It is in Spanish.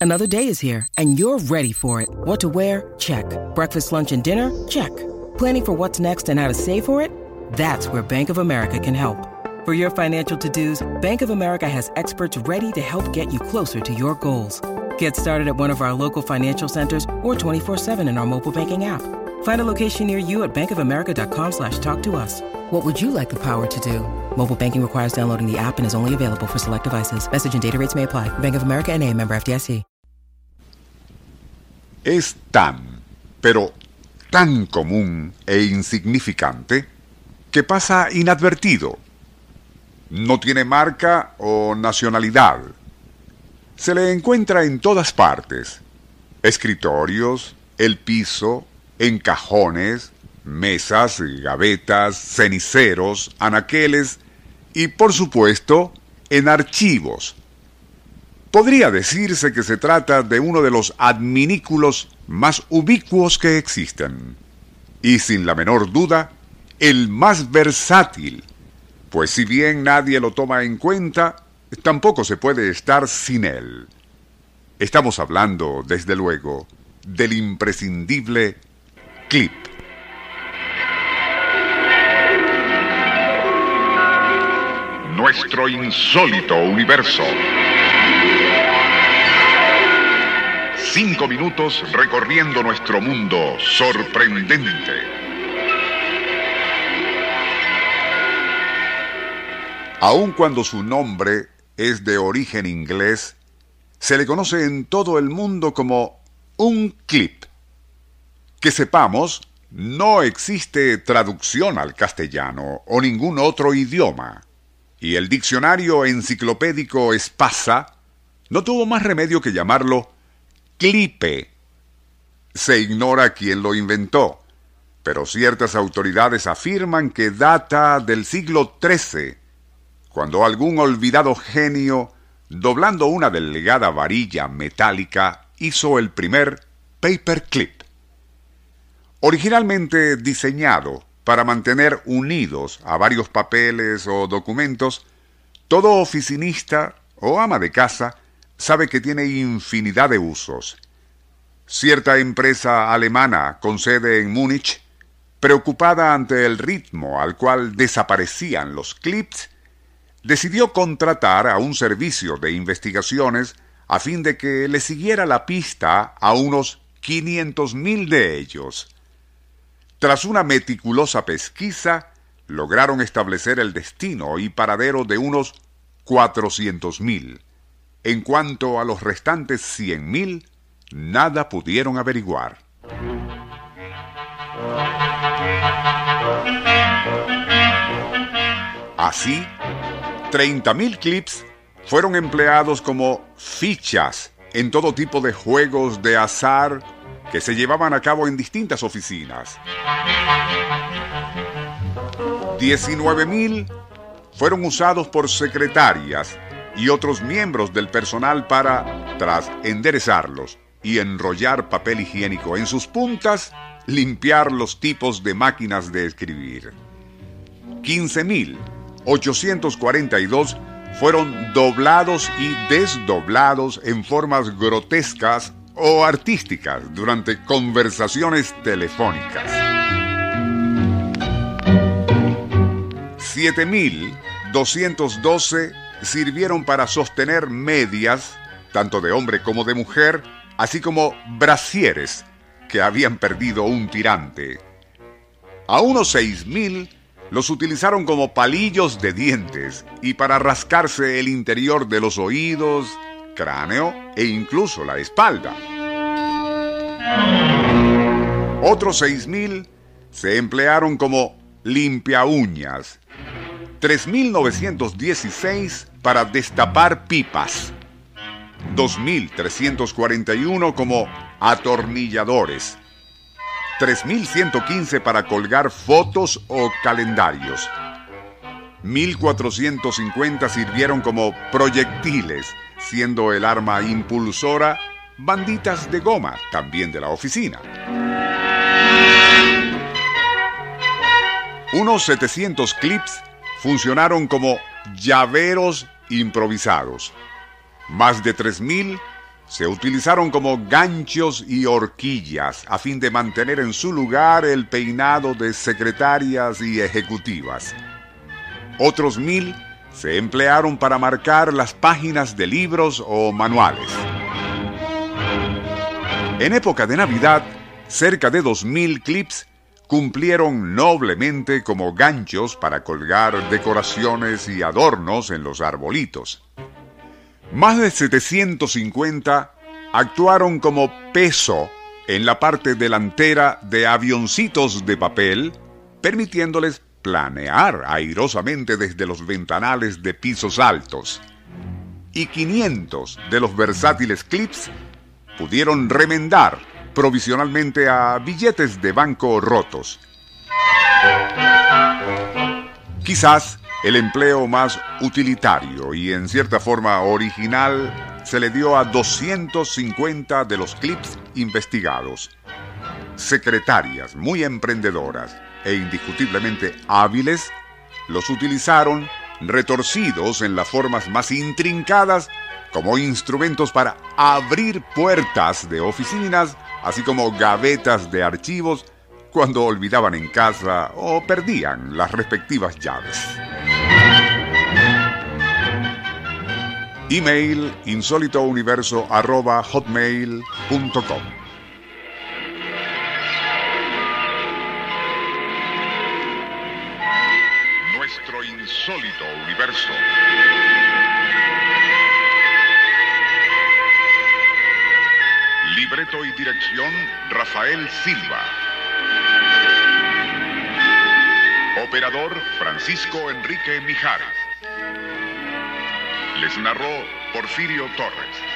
Another day is here, and you're ready for it. What to wear? Check. Breakfast, lunch, and dinner? Check. Planning for what's next and how to save for it? That's where Bank of America can help. For your financial to-dos, Bank of America has experts ready to help get you closer to your goals. Get started at one of our local financial centers or 24/7 in our mobile banking app. Find a location near you at bankofamerica.com/talktous. What would you like the power to do? Mobile banking requires downloading the app and is only available for select devices. Message and data rates may apply. Bank of America N.A., member FDIC. Es pero tan común e insignificante que pasa inadvertido. No tiene marca o nacionalidad. Se le encuentra en todas partes. Escritorios, el piso, en cajones, mesas, gavetas, ceniceros, anaqueles y, por supuesto, en archivos. Podría decirse que se trata de uno de los adminículos más ubicuos que existen. Y sin la menor duda, el más versátil. Pues si bien nadie lo toma en cuenta, tampoco se puede estar sin él. Estamos hablando, desde luego, del imprescindible clip. Nuestro insólito universo. 5 minutos recorriendo nuestro mundo sorprendente. Aun cuando su nombre es de origen inglés, se le conoce en todo el mundo como un clip. Que sepamos, no existe traducción al castellano o ningún otro idioma, y el diccionario enciclopédico Espasa no tuvo más remedio que llamarlo clipe. Se ignora quién lo inventó, pero ciertas autoridades afirman que data del siglo XIII, cuando algún olvidado genio, doblando una delgada varilla metálica, hizo el primer paperclip. Originalmente diseñado para mantener unidos a varios papeles o documentos, todo oficinista o ama de casa sabe que tiene infinidad de usos. Cierta empresa alemana con sede en Múnich, preocupada ante el ritmo al cual desaparecían los clips, decidió contratar a un servicio de investigaciones a fin de que le siguiera la pista a unos 500,000 de ellos. Tras una meticulosa pesquisa, lograron establecer el destino y paradero de unos 400,000. En cuanto a los restantes 100,000, nada pudieron averiguar. Así, 30,000 clips fueron empleados como fichas en todo tipo de juegos de azar que se llevaban a cabo en distintas oficinas. 19,000 fueron usados por secretarias y otros miembros del personal para, tras enderezarlos y enrollar papel higiénico en sus puntas, limpiar los tipos de máquinas de escribir. 15,842 fueron doblados y desdoblados en formas grotescas o artísticas durante conversaciones telefónicas. 7,212 sirvieron para sostener medias, tanto de hombre como de mujer, así como brasieres que habían perdido un tirante. A unos 6,000 los utilizaron como palillos de dientes y para rascarse el interior de los oídos, cráneo e incluso la espalda. Otros 6,000 se emplearon como limpiauñas. 3,916 para destapar pipas. 2,341 como atornilladores. 3,115 para colgar fotos o calendarios. 1,450 sirvieron como proyectiles, siendo el arma impulsora banditas de goma, también de la oficina. Unos 700 clips funcionaron como llaveros improvisados. Más de 3,000 se utilizaron como ganchos y horquillas a fin de mantener en su lugar el peinado de secretarias y ejecutivas. Otros 1000 se emplearon para marcar las páginas de libros o manuales. En época de Navidad, cerca de 2000 clips cumplieron noblemente como ganchos para colgar decoraciones y adornos en los arbolitos. Más de 750 actuaron como peso en la parte delantera de avioncitos de papel, permitiéndoles planear airosamente desde los ventanales de pisos altos. Y 500 de los versátiles clips pudieron remendar provisionalmente a billetes de banco rotos. Quizás el empleo más utilitario y en cierta forma original se le dio a 250 de los clips investigados. Secretarias muy emprendedoras e indiscutiblemente hábiles los utilizaron retorcidos en las formas más intrincadas como instrumentos para abrir puertas de oficinas, así como gavetas de archivos cuando olvidaban en casa o perdían las respectivas llaves. Email insólitouniverso@hotmail.com. Nuestro insólito universo. Libreto y dirección, Rafael Silva. Operador, Francisco Enrique Mijares. Les narró Porfirio Torres.